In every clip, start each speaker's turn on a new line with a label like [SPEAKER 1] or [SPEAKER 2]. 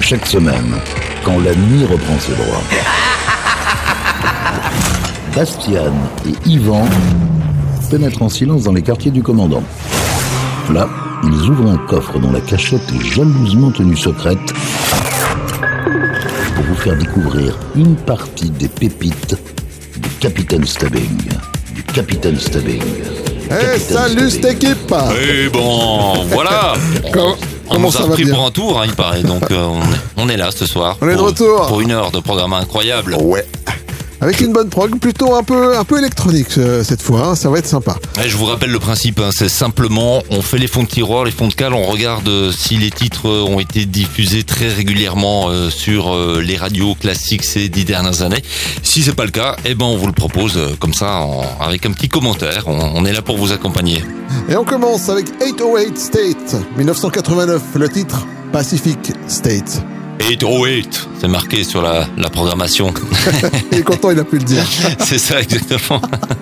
[SPEAKER 1] chaque semaine, quand la nuit reprend ses droits. Bastian et Yvan pénètrent en silence dans les quartiers du commandant. Là, ils ouvrent un coffre dont la cachette est jalousement tenue secrète pour vous faire découvrir une partie des pépites du Capitaine Stubbing.
[SPEAKER 2] Salut cette équipe.
[SPEAKER 3] Et bon, voilà. On nous a pris pour un tour, il paraît. Donc on est là ce soir.
[SPEAKER 2] On est de retour
[SPEAKER 3] pour une heure de programme incroyable.
[SPEAKER 2] Ouais. Avec une bonne prog, plutôt un peu électronique cette fois, ça va être sympa.
[SPEAKER 3] Et je vous rappelle le principe, c'est simplement, on fait les fonds de tiroir, les fonds de cale, on regarde si les titres ont été diffusés très régulièrement sur les radios classiques ces 10 dernières années. Si c'est pas le cas, on vous le propose comme ça, avec un petit commentaire. On est là pour vous accompagner.
[SPEAKER 2] Et on commence avec 808 State, 1989, le titre Pacific State.
[SPEAKER 3] 808, c'est marqué sur la programmation.
[SPEAKER 2] Il est content, il a pu le dire.
[SPEAKER 3] C'est ça, exactement.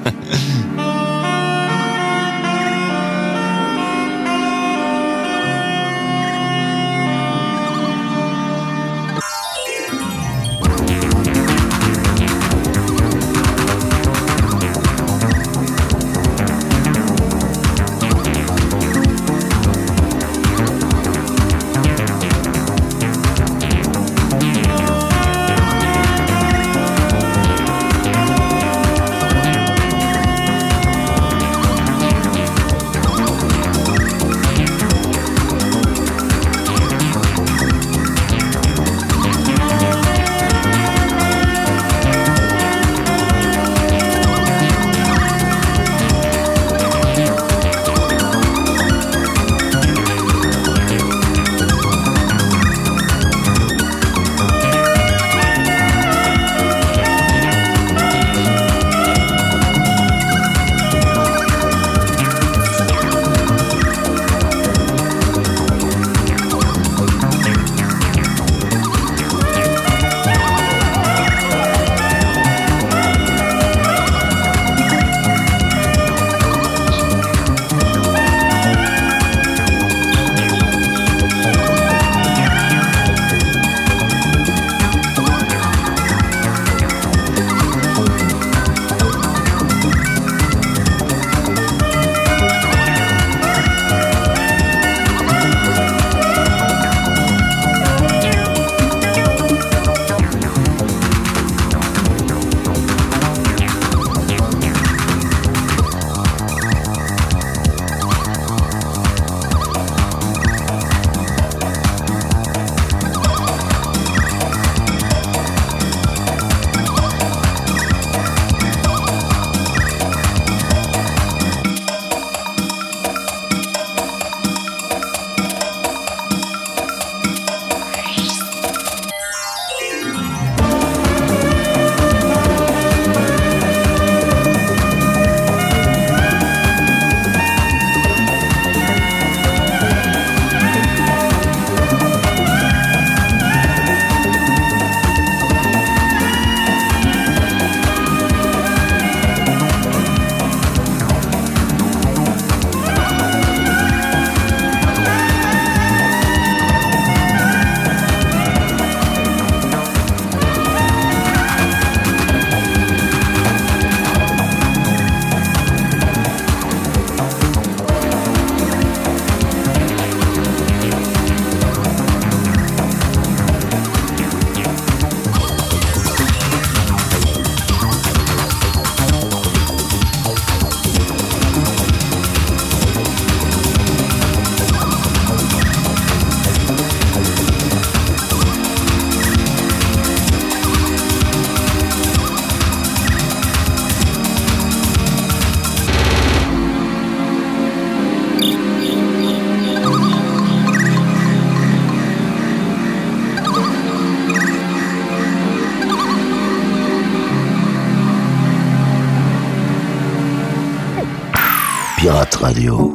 [SPEAKER 1] Pirate Radio.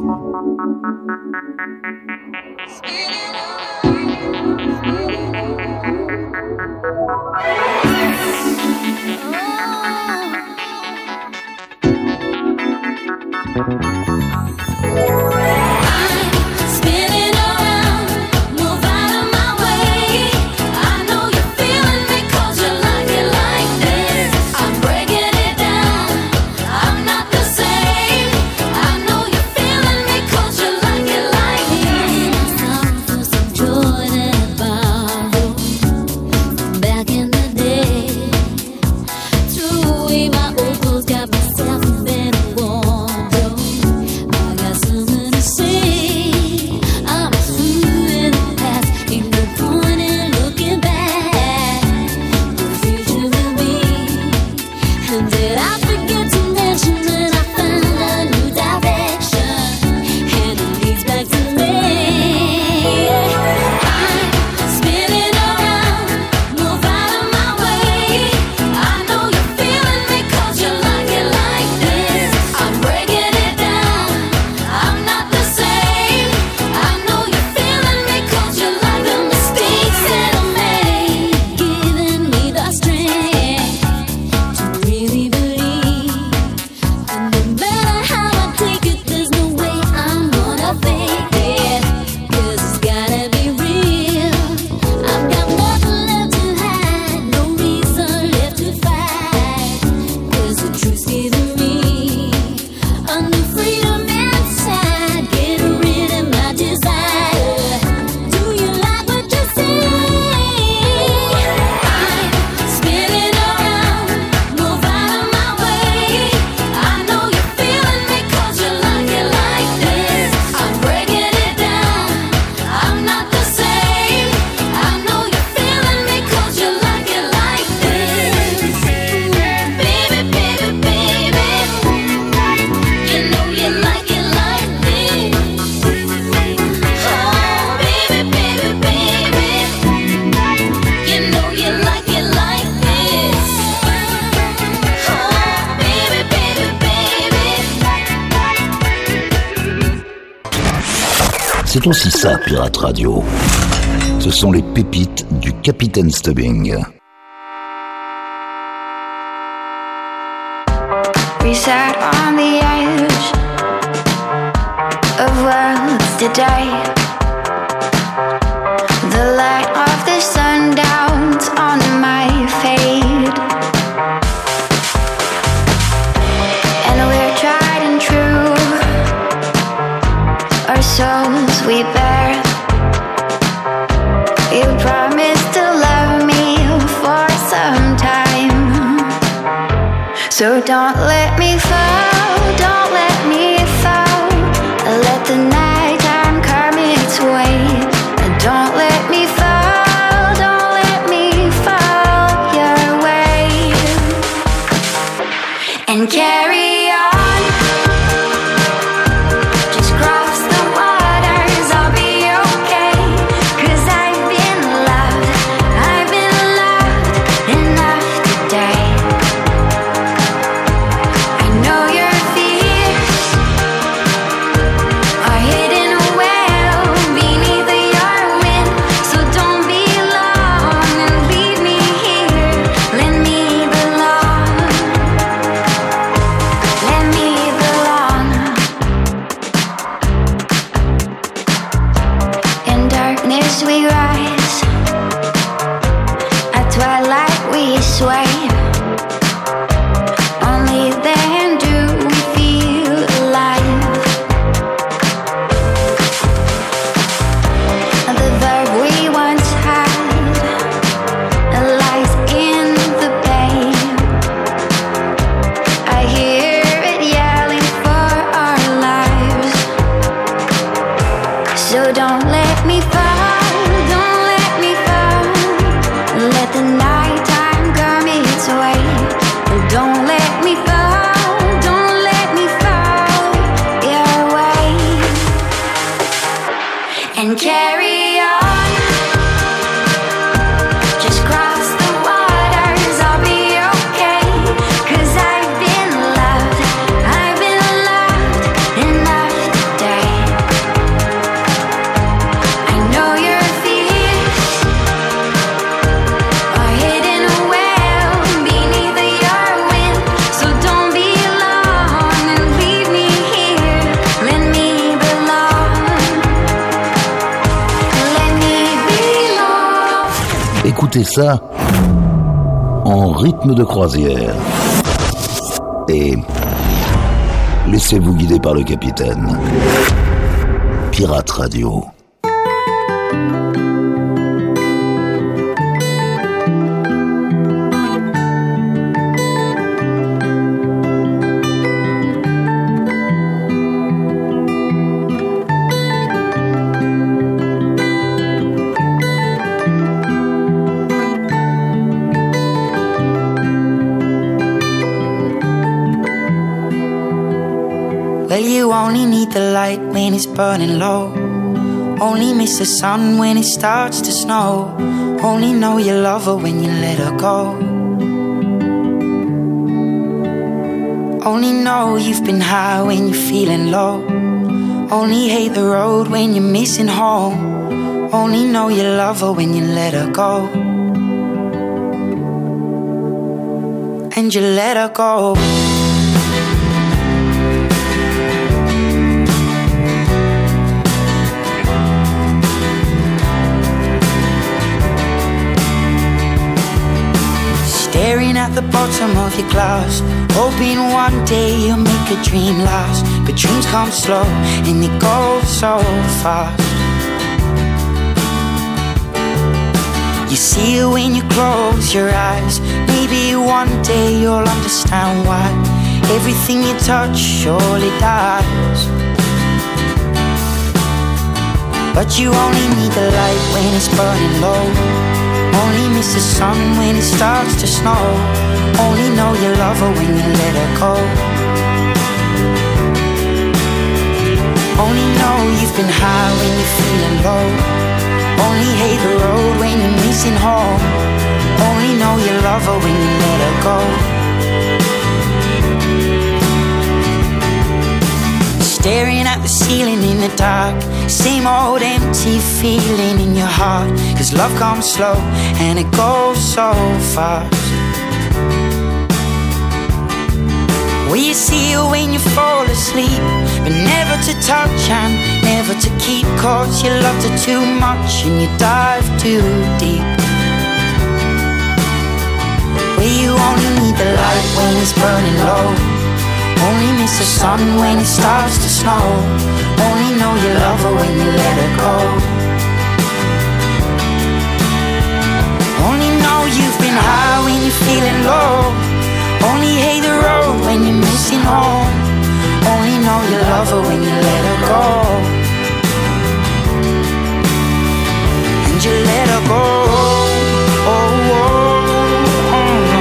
[SPEAKER 1] C'est aussi ça, Pirate Radio. Ce sont les pépites du Capitaine Stubbing.
[SPEAKER 4] We sat on the edge of worlds today. The light of the sundowns on my fade, and we're tried and true. Our souls we bear. You promised to love me for some time, so don't let me fall, don't let me fall. Let the night time come its way. Don't let me fall, don't let me fall your way. And carry on, just cross the waters, I'll be okay. 'Cause I've been loved enough today. I know your fears are hidden well beneath your wind, so don't be long and leave me here. Let me belong, let me belong. In darkness we rise, at twilight we sway. Only then do we feel alive. The verb we once had lies in the bay. I hear it yelling for our lives. So don't let me fall, don't let me fall. Let the night time come its way. Don't let me fall, don't let me fall your way. And carry on, just cross the waters, I'll be okay. 'Cause I've been loved enough today. I know your fears are hidden well beneath your wind, so don't be long and leave me here. Let me belong, let me belong.
[SPEAKER 1] Écoutez ça en rythme de croisière. Et laissez-vous guider par le capitaine. Pirate Radio.
[SPEAKER 5] Well, you only need the light when it's burning low. Only miss the sun when it starts to snow. Only know you love her when you let her go. Only know you've been high when you're feeling low. Only hate the road when you're missing home. Only know you love her when you let her go. And you let her go. Staring at the bottom of your glass, hoping one day you'll make a dream last. But dreams come slow and they go so fast. You see it when you close your eyes. Maybe one day you'll understand why everything you touch surely dies. But you only need the light when it's burning low. Only miss the sun when it starts to snow. Only know you love her when you let her go. Only know you've been high when you're feeling low. Only hate the road when you're missing home. Only know you love her when you let her go. staring at the ceiling in the dark. Same old empty feeling in your heart. 'Cause love comes slow and it goes so fast. Will you see you when you fall asleep, but never to touch and never to keep, 'cause you loved her too much and you dive too deep. Where you only need the light when it's burning low, only miss the sun when it starts to snow, only know you love her when you let her go. Only know you've been high when you're feeling low, only hate the road when you're missing home, only know you love her when you let her go. And you let her go. Oh, oh, oh.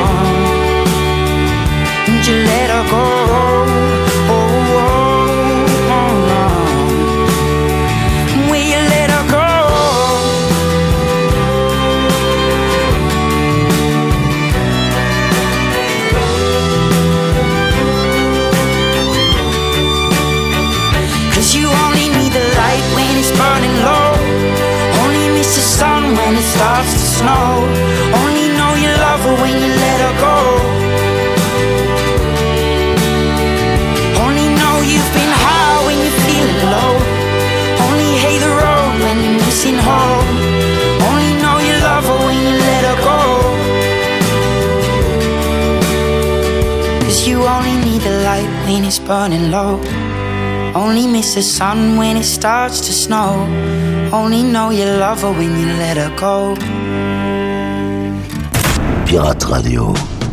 [SPEAKER 5] And you let her go. Oh, oh, oh. Will you let her go? You only need the light when it's burning low, only miss the sun when it starts to snow, only know you love her when you let her go. Only know you've been high when you're feeling low, only hate the road when you're missing home, only know you love her when you let her go. 'Cause you only need the light when it's burning low, only miss the sun when it starts to snow, only know you love her when you let her go.
[SPEAKER 1] Pirate Radio.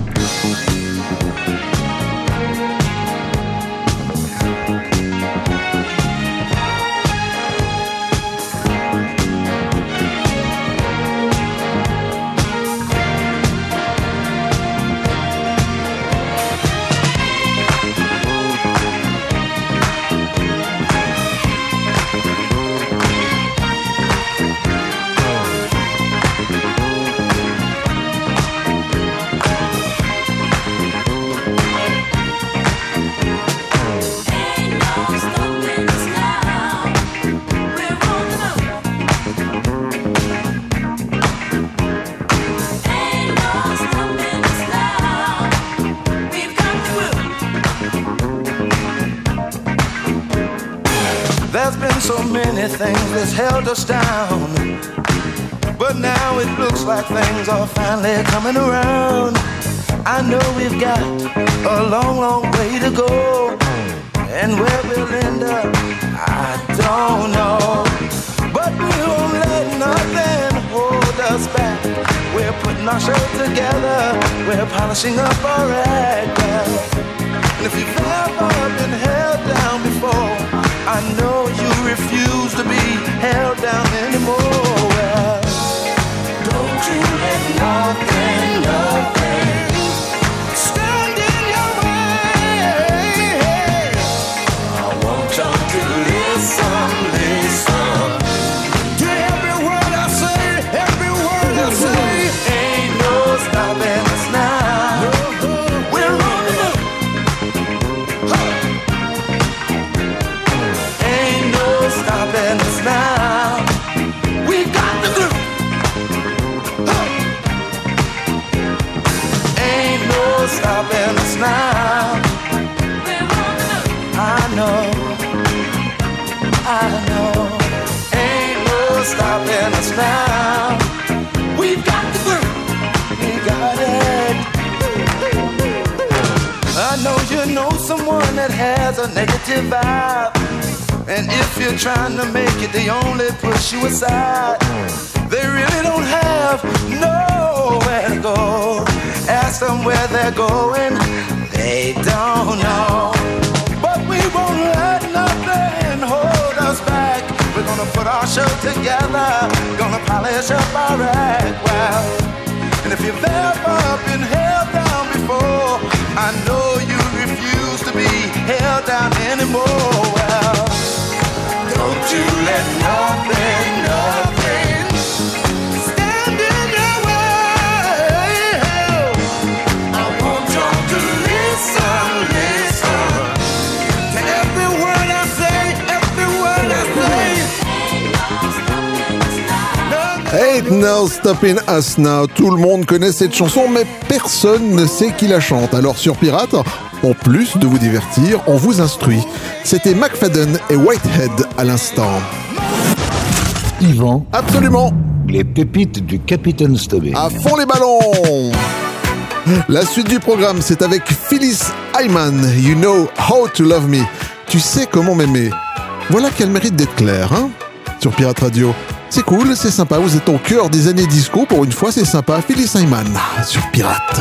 [SPEAKER 6] So many things that's held us down, but now it looks like things are finally coming around. I know we've got a long, long way to go, and where we'll end up, I don't know. But we won't let nothing hold us back. We're putting our show together, we're polishing up our act. And if you've ever been held down before, I know you refuse to be held down anymore. Well, don't you let nothing stand in your way. I want you to listen to every word I say, every word I say. Ain't no stopping us now. We're on the move. Stopping us now. We got the groove. Ain't no stopping us now. I know. Ain't no stopping us now. We got the groove. We got it. I know you know someone that has a negative vibe, and if you're trying to make it, they only push you aside. They really don't have nowhere to go. Ask them where they're going, they don't know. But we won't let nothing hold us back. We're gonna put our show together, gonna polish up our act well. And if you've ever been held down before, I know you refuse to be held down anymore. Well, don't you let nothing stand in your way. I want you to listen to every word I say.
[SPEAKER 2] Ain't no stopping us now. Tout le monde connaît cette chanson, mais personne ne sait qui la chante. Alors sur Pirate, en plus de vous divertir, on vous instruit. C'était McFadden et Whitehead à l'instant.
[SPEAKER 1] Yvan,
[SPEAKER 2] Absolument.
[SPEAKER 1] les pépites du Capitaine Stubbing.
[SPEAKER 2] À fond les ballons. La suite du programme, c'est avec Phyllis Hyman. You know how to love me. Tu sais comment m'aimer. Voilà qu'elle mérite d'être claire, hein, sur Pirate Radio. C'est cool, c'est sympa, vous êtes au cœur des années disco, pour une fois c'est sympa. Phyllis Hyman, sur Pirate.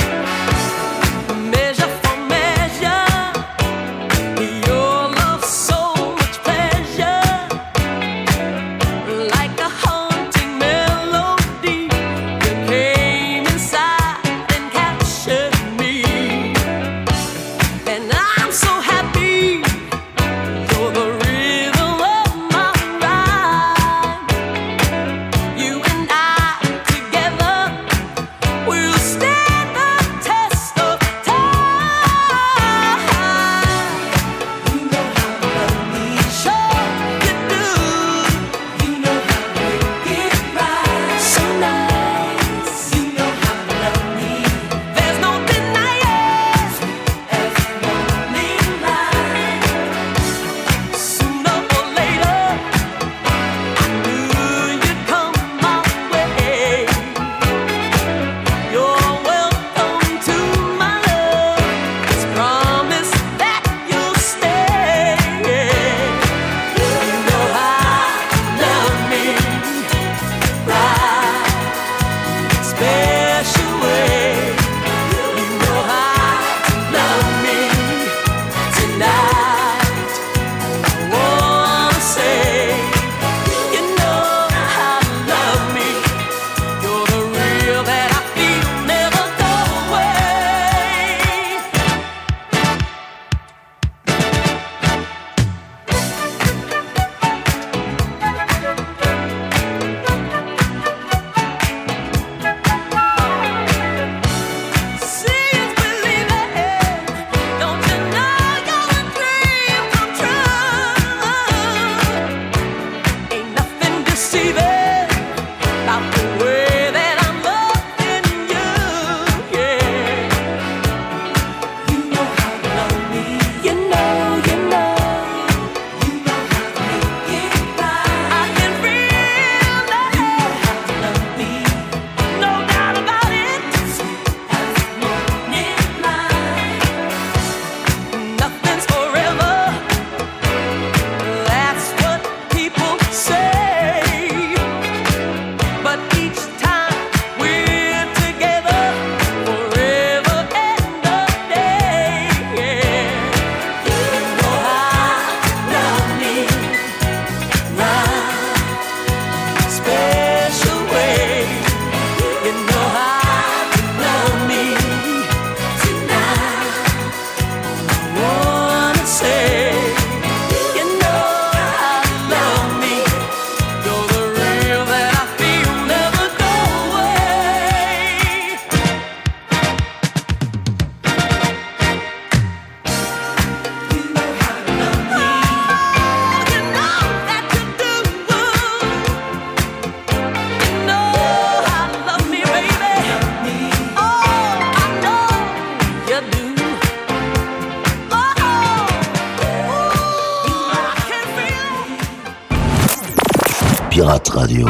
[SPEAKER 1] Pirate Radio.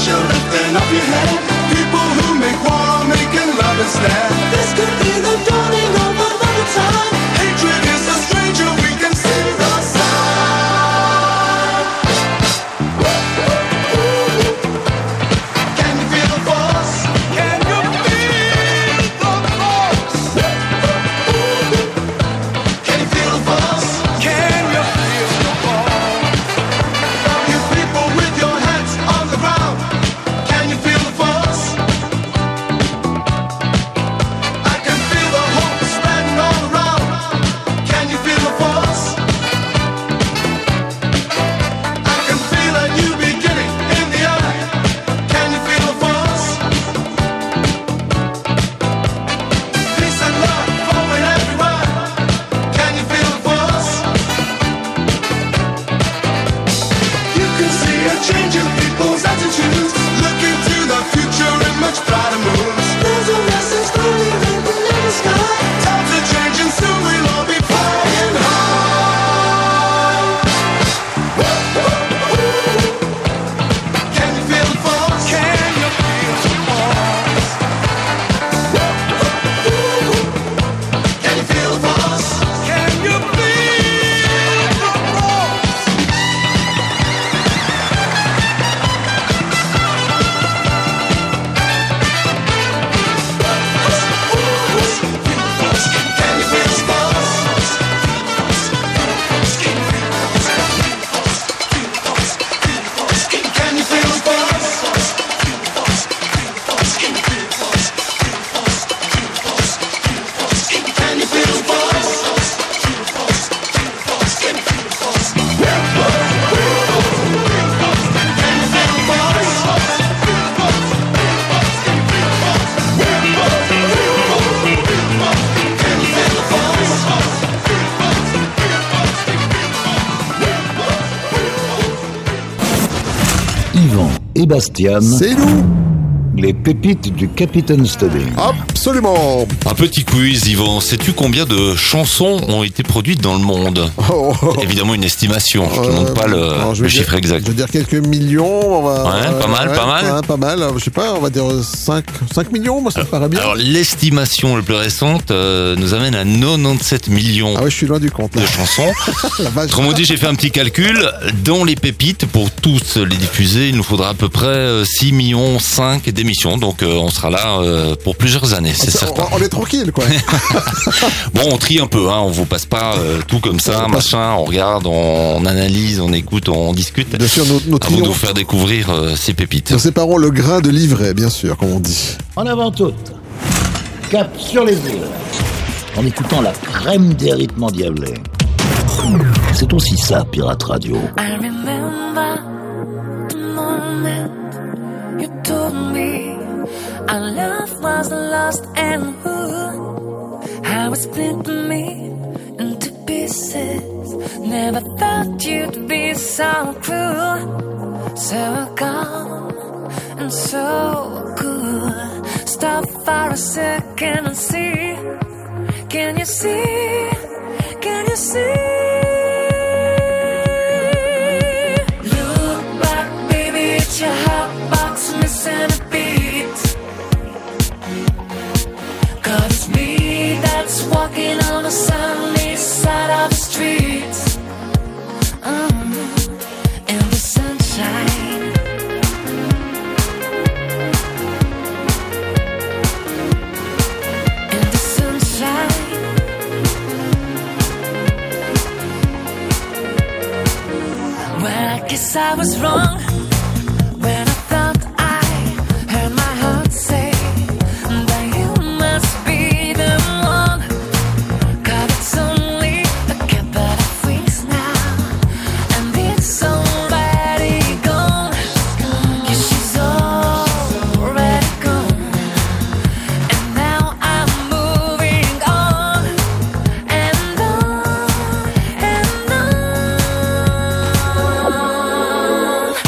[SPEAKER 6] you're lifting up your head. People who make war are making love instead. This could be the dawning of another time. Hatred is a stranger, we can sing the song. Can you feel the force? Can you feel the force? Can you feel the force? Can you feel the force? You people with your hands on the ground, can you feel the force? I can feel the hope spreading all around. Can you feel the force? I can feel a new beginning in the air. Can you feel the force? Peace and love flowing everywhere. Can you feel the force? You can see a change in people's attitudes, looking to the future in much brighter moods. There's a message clearly written in the sky. Times are changing, soon we'll all be flying high. Can you feel the force? Can you feel the force? Can you feel the force? Can you feel the force? Can you feel the force? Can you feel the force? Can you feel the force?
[SPEAKER 1] Yvan et Bastian,
[SPEAKER 2] C'est nous.
[SPEAKER 1] les pépites du Capitaine Stubbing.
[SPEAKER 2] Absolument.
[SPEAKER 3] Un petit quiz, Yvan. Sais-tu combien de chansons ont été produites dans le monde?
[SPEAKER 2] Oh.
[SPEAKER 3] Évidemment, une estimation. Je ne te demande pas
[SPEAKER 2] Alors, je
[SPEAKER 3] le
[SPEAKER 2] vais
[SPEAKER 3] chiffre
[SPEAKER 2] dire-
[SPEAKER 3] exact.
[SPEAKER 2] Je veux dire quelques millions.
[SPEAKER 3] Ouais, pas mal, pas mal.
[SPEAKER 2] Ouais, pas mal. Je sais pas, on va dire 5 millions, moi ça me paraît bien.
[SPEAKER 3] Alors, l'estimation la plus récente nous amène à 97 millions
[SPEAKER 2] Ah ouais, je suis loin du compte. Là.
[SPEAKER 3] de chansons.
[SPEAKER 2] La vache.
[SPEAKER 3] Autrement dit, j'ai fait un petit calcul. Dans les pépites, pour tous les diffuser, il nous faudra à peu près 6 millions 5 d'émissions. Donc, on sera là pour plusieurs années, c'est certain.
[SPEAKER 2] On est tranquille, quoi.
[SPEAKER 3] Bon, on trie un peu, hein. On vous passe pas tout comme ça, machin. On regarde, on analyse, on écoute, on discute.
[SPEAKER 2] Bien sûr, nos
[SPEAKER 3] Avant de
[SPEAKER 2] trions,
[SPEAKER 3] vous faire découvrir ces pépites.
[SPEAKER 2] nous séparons le grain de l'ivraie, bien sûr, comme on dit.
[SPEAKER 1] En avant toute, cap sur les îles, en écoutant la crème des rythmes endiablés. C'est aussi ça, Pirate Radio.
[SPEAKER 7] I remember the moment you told me our love was lost and how it split me into pieces. Never thought you'd be so cruel, so calm and so cool. Stop for a second and see. Can you see? Can you see? Look back, baby, it's your hot box missing a beat. 'Cause it's me that's walking on the sunny side of the street. In the sunshine. In the sunshine. Well, I guess I was wrong when I thought I heard my heart say that you must be the one. 'Cause it's only a couple of weeks now, and it's already gone. Yeah, she's already gone, and now I'm moving on and on and on.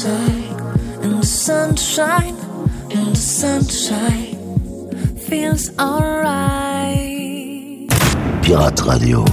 [SPEAKER 7] sunshine, in the sunshine, in the sunshine, feels alright.
[SPEAKER 1] Pirate Radio.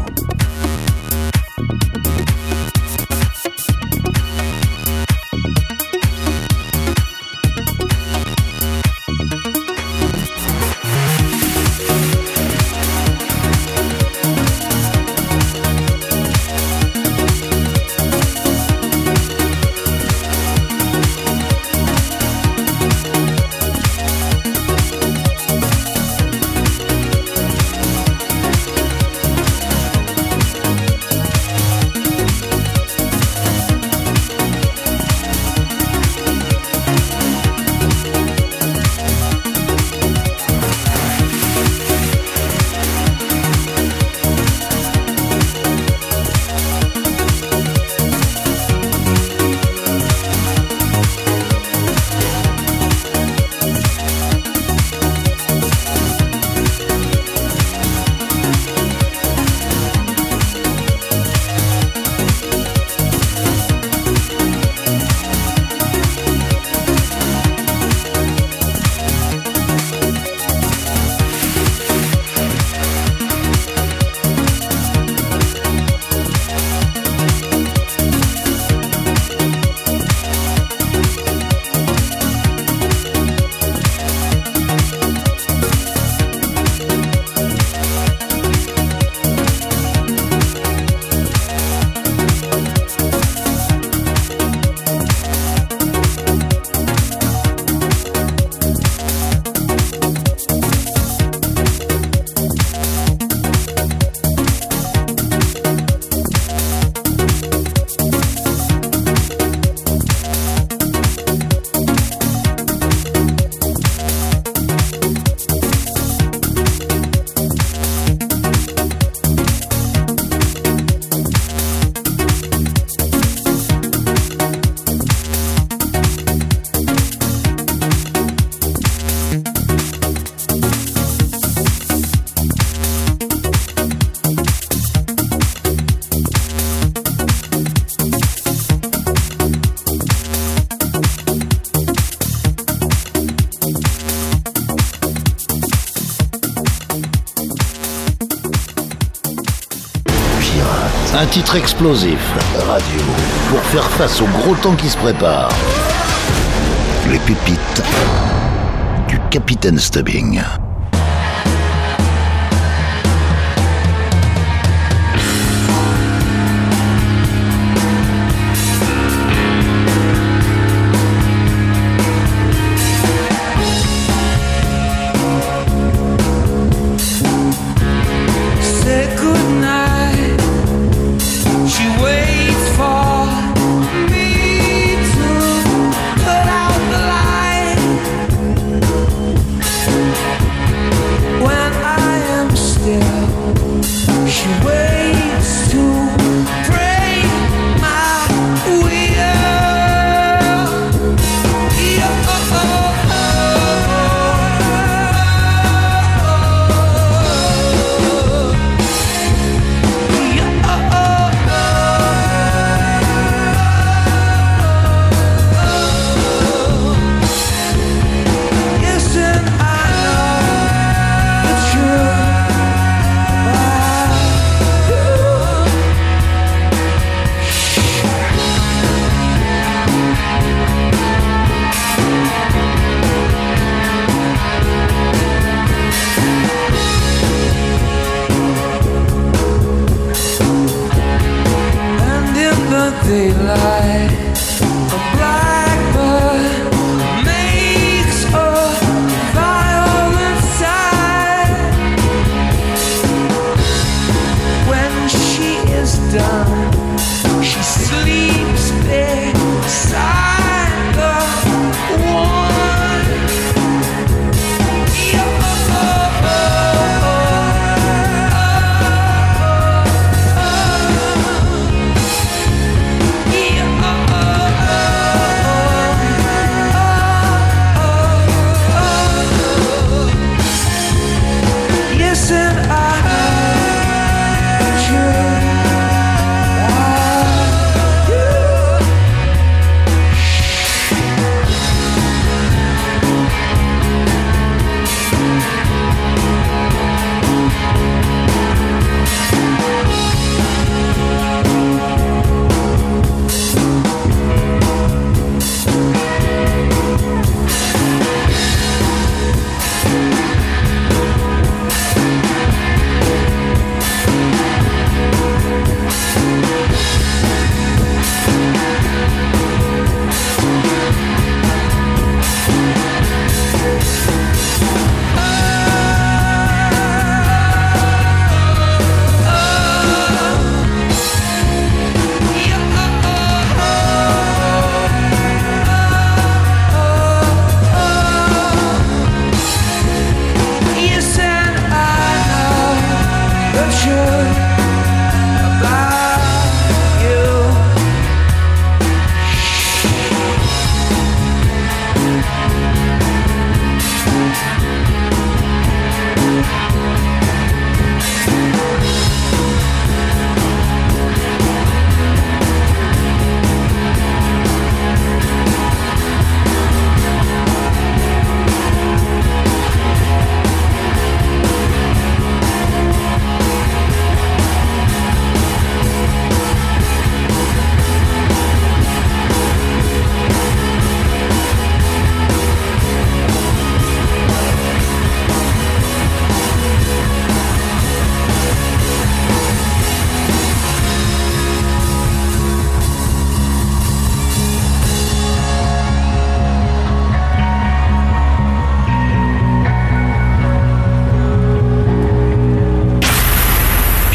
[SPEAKER 1] Un titre explosif, radio, pour faire face au gros temps qui se prépare. Les pépites du Capitaine Stubbing.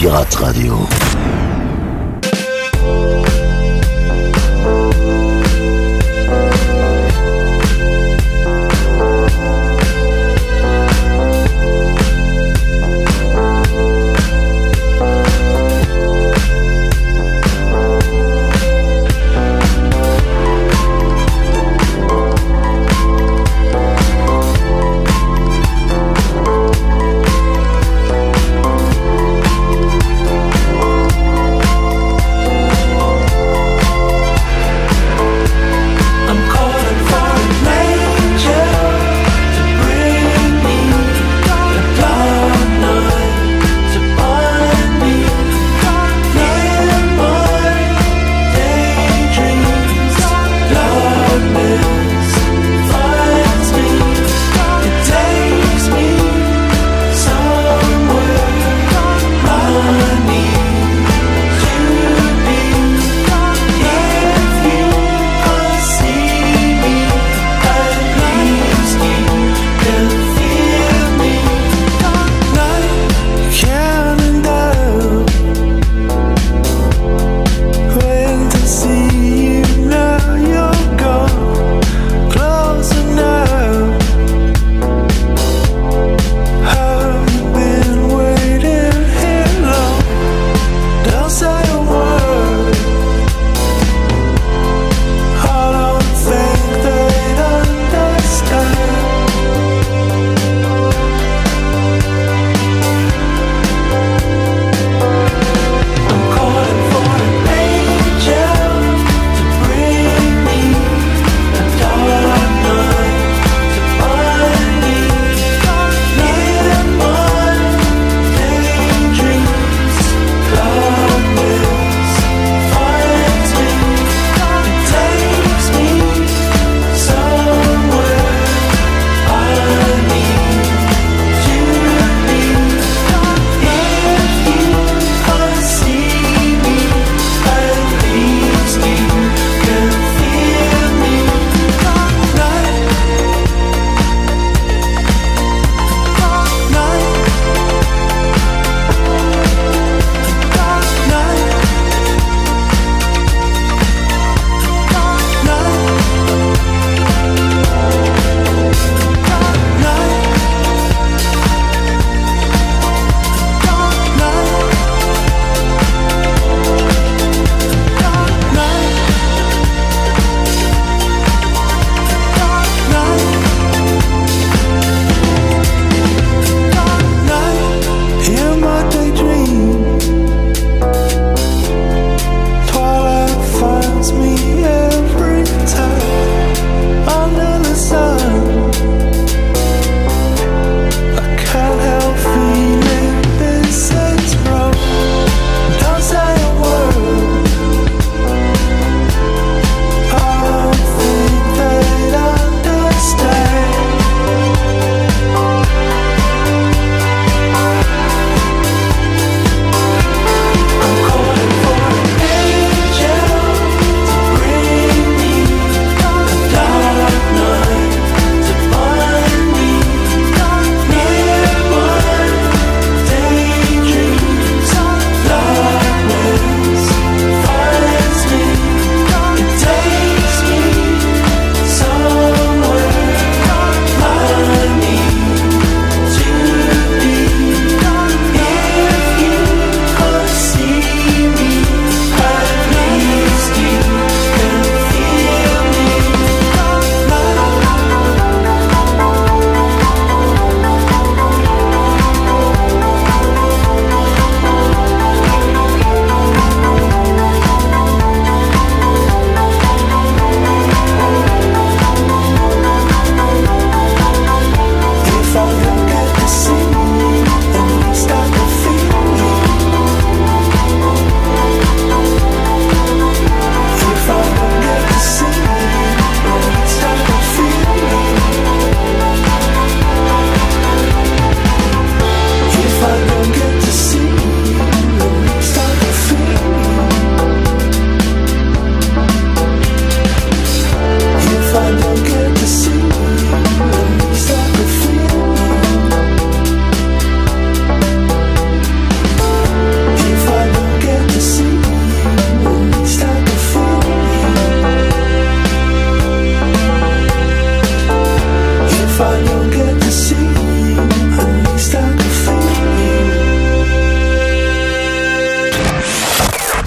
[SPEAKER 1] Pirate Radio.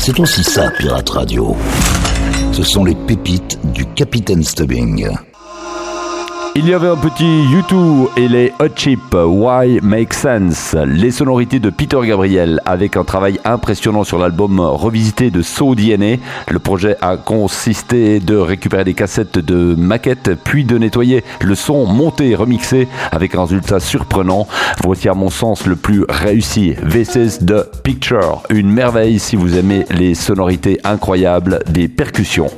[SPEAKER 1] C'est aussi ça, Pirate Radio. Ce sont les pépites du Capitaine Stubbing.
[SPEAKER 8] Il y avait un petit U2 et les Hot Chip, Why Make Sense, les sonorités de Peter Gabriel avec un travail impressionnant sur l'album revisité de So DNA. Le projet a consisté de récupérer des cassettes de maquettes puis de nettoyer le son monté et remixé avec un résultat surprenant. Voici à mon sens le plus réussi, This is the Picture, une merveille si vous aimez les sonorités incroyables des percussions.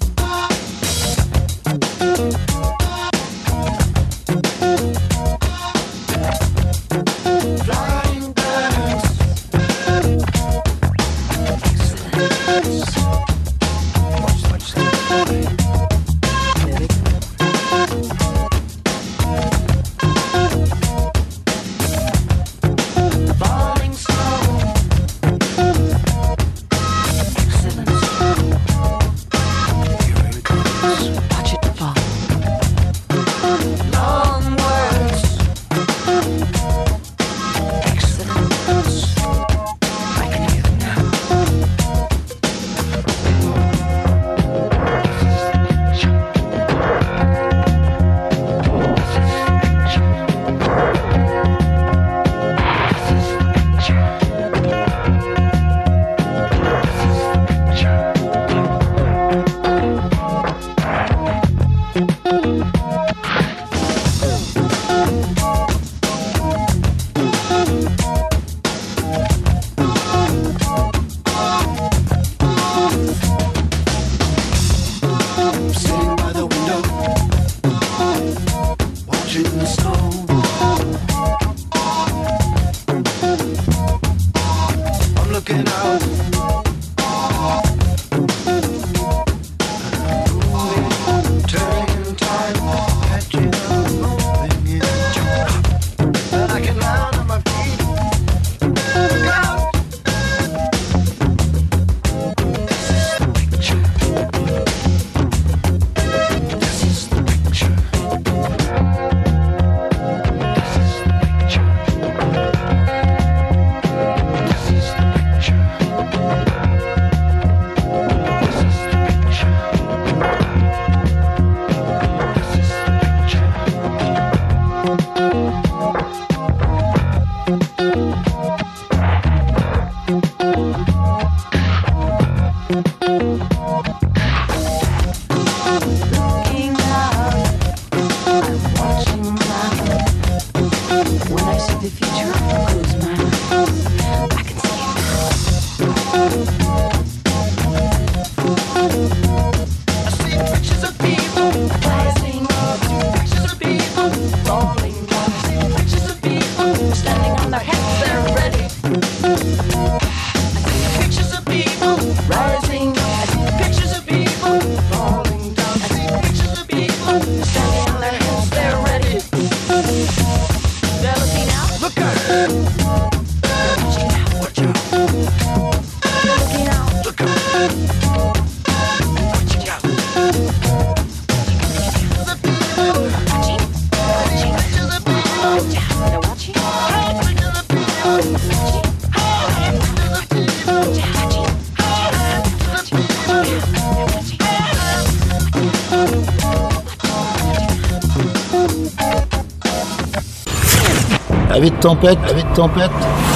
[SPEAKER 1] Avis de tempête,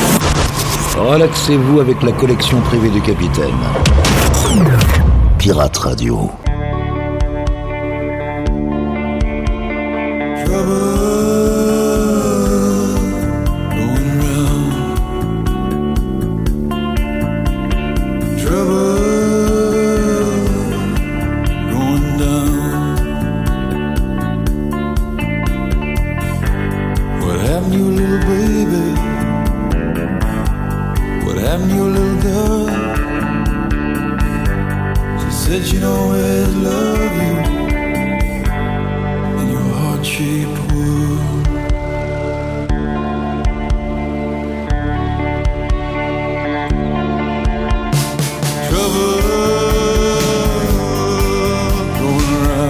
[SPEAKER 1] relaxez-vous avec la collection privée du capitaine. Pirate Radio.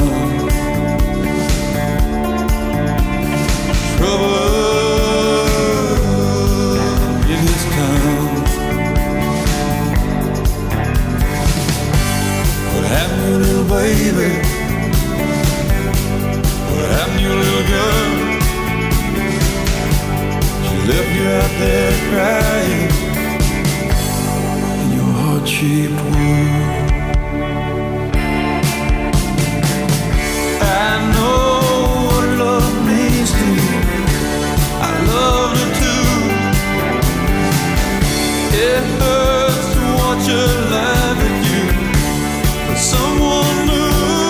[SPEAKER 9] Trouble
[SPEAKER 6] left you out there crying in your heart-shaped world. I know what love means to you. I loved her too. It hurts to watch her laugh at you, but someone new.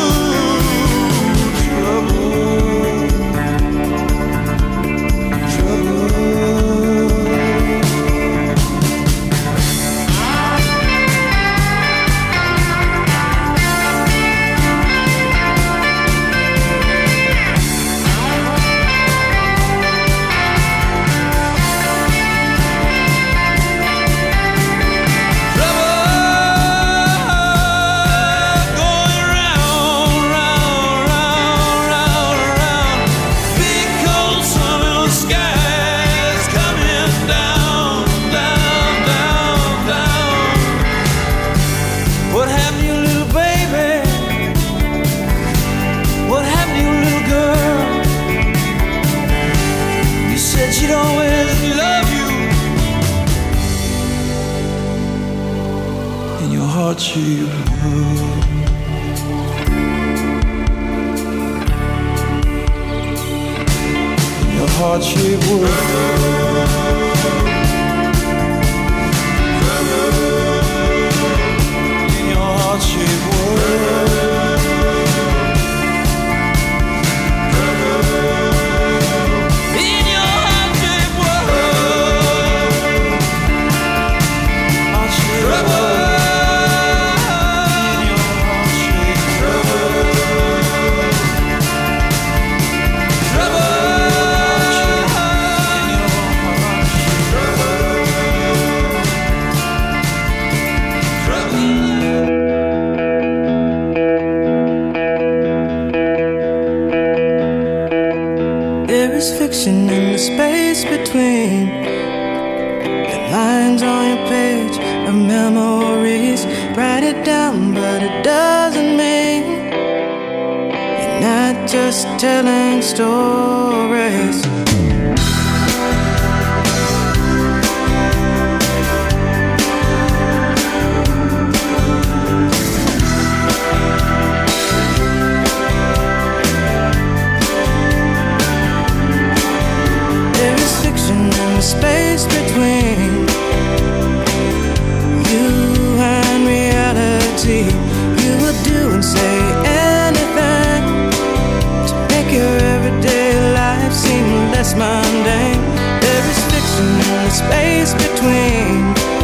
[SPEAKER 6] She'd always love you in your heart-shaped world. In your heart-shaped world. In your heart-shaped world. Fiction in the space between the lines on your page of memories. Write it down, but it doesn't mean you're not just telling stories. Space between you and reality. You will do and say anything to make your everyday life seem less mundane. There is fiction in the space between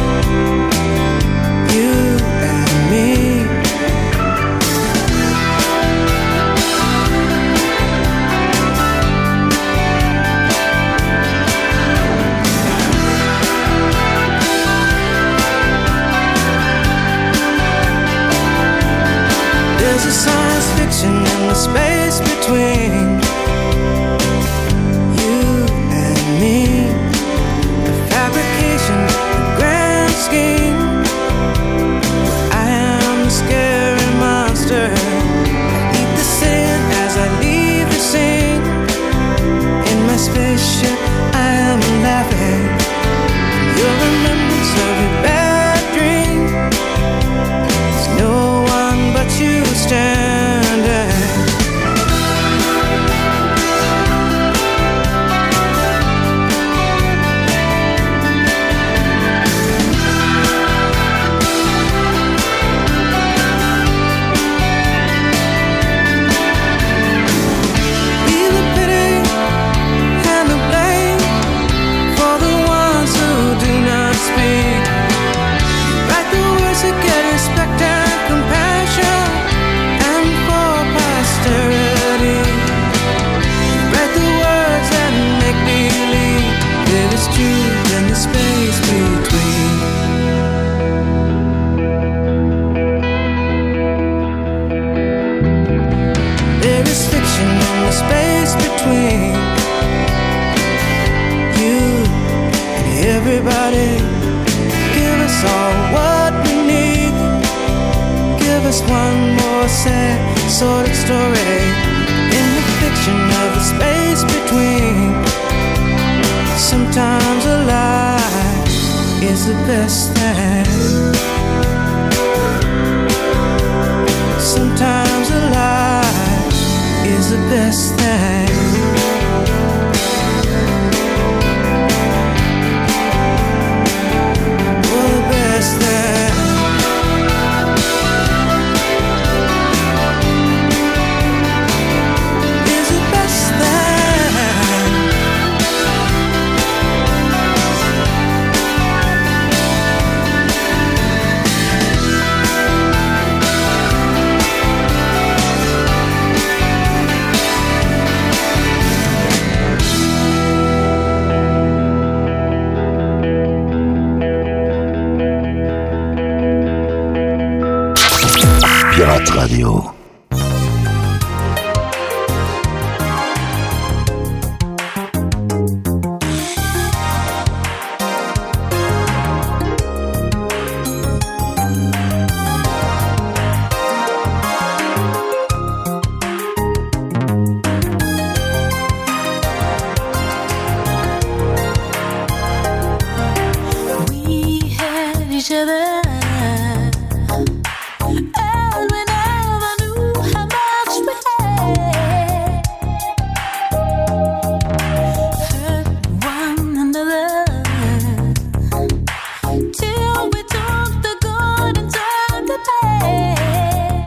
[SPEAKER 6] you and me. There's a science fiction in the space between you and me. The fabrication, the grand scheme. I am the scary monster. I eat the sin as I leave the scene. In my spaceship, I am laughing. Your remembrance of your bad dream. There's no one but you standing. Feel the pity and the blame for the ones who do not speak. Write the words that get respect and compassion, and for posterity. Write the words that make believe there is truth in the space between. There is fiction in the space between you and everybody. Give us all what we need. Give us one more sad, sordid story in the fiction of the space between. Sometimes
[SPEAKER 5] is the best thing. Sometimes a lie is the best thing. Oh, the best thing. Is the best thing.
[SPEAKER 1] Pirate Radio.
[SPEAKER 7] We had each other, and we never knew how much we had. Hurt one another till we took the good and turned the bad.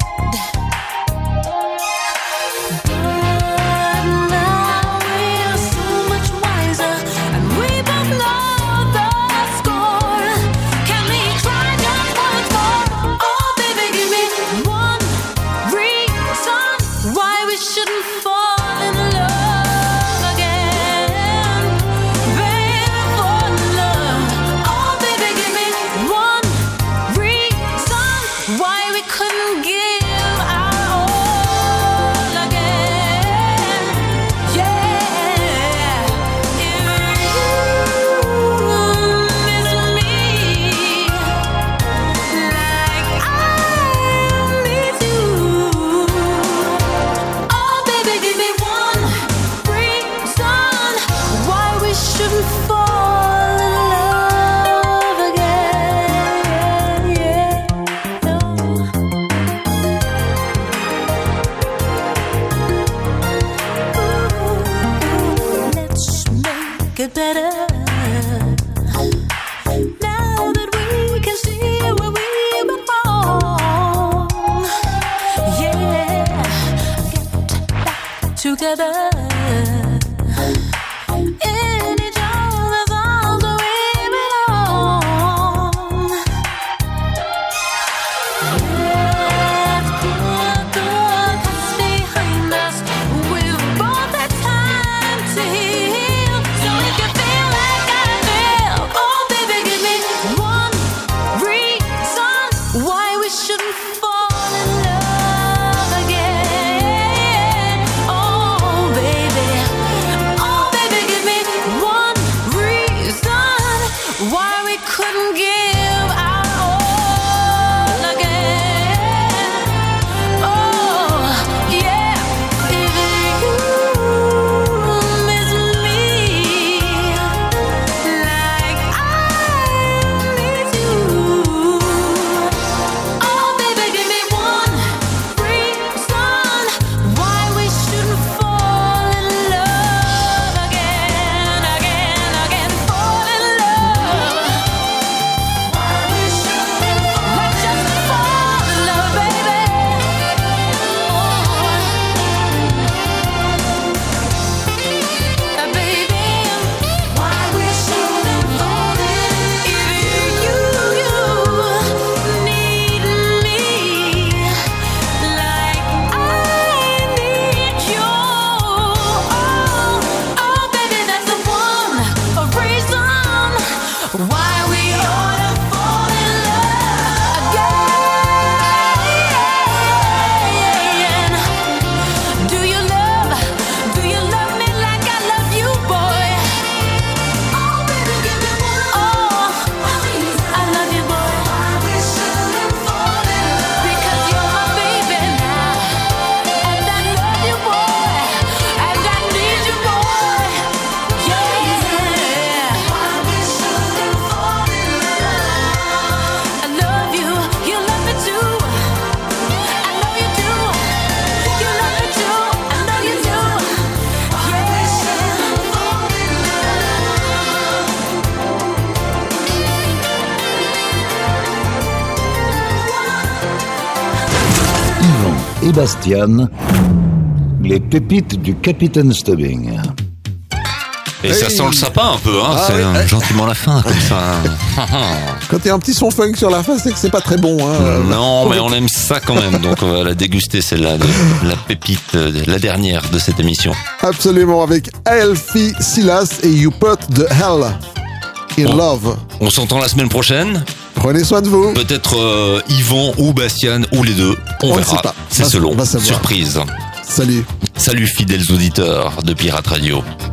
[SPEAKER 7] But now we're so much wiser, and we both know the score. Can we try just once more? Oh, baby, give me one reason why we shouldn't fall in love again. Baby, fall in love. Oh, baby, give me one reason why we couldn't give our all again. Yeah, if you miss me like I miss you, oh baby, give me one reason why we shouldn't fall in love again. Yeah, no. Let's make it better. Now that we can see where we went wrong. Yeah, get back together. In each other's arms where we belong. Let's put the past behind us. We've both had time to heal, so we can feel like I feel. Oh, baby, give me one reason why we shouldn't fall in love again. Oh, baby.
[SPEAKER 1] et Bastian, les pépites du Capitaine Stubbing.
[SPEAKER 3] Et ça sent le sapin un peu, hein.
[SPEAKER 2] Ah
[SPEAKER 3] C'est
[SPEAKER 2] oui.
[SPEAKER 3] gentiment la fin, comme ça.
[SPEAKER 2] Quand il y a un petit son funk sur la fin, c'est que c'est pas très bon. Hein.
[SPEAKER 3] Non, mais on aime ça quand même. Donc on va la déguster, celle-là, la pépite, la dernière de cette émission.
[SPEAKER 2] Absolument, avec Elfie Silas et You Put the Hell in Love.
[SPEAKER 3] On s'entend la semaine prochaine.
[SPEAKER 2] Prenez soin de vous.
[SPEAKER 3] Peut-être Yvan ou Bastien ou les deux. On
[SPEAKER 2] ne sait
[SPEAKER 3] verra.
[SPEAKER 2] pas.
[SPEAKER 3] C'est
[SPEAKER 2] On
[SPEAKER 3] selon.
[SPEAKER 2] va savoir.
[SPEAKER 3] Surprise.
[SPEAKER 2] Salut.
[SPEAKER 3] Salut fidèles auditeurs de Pirate Radio.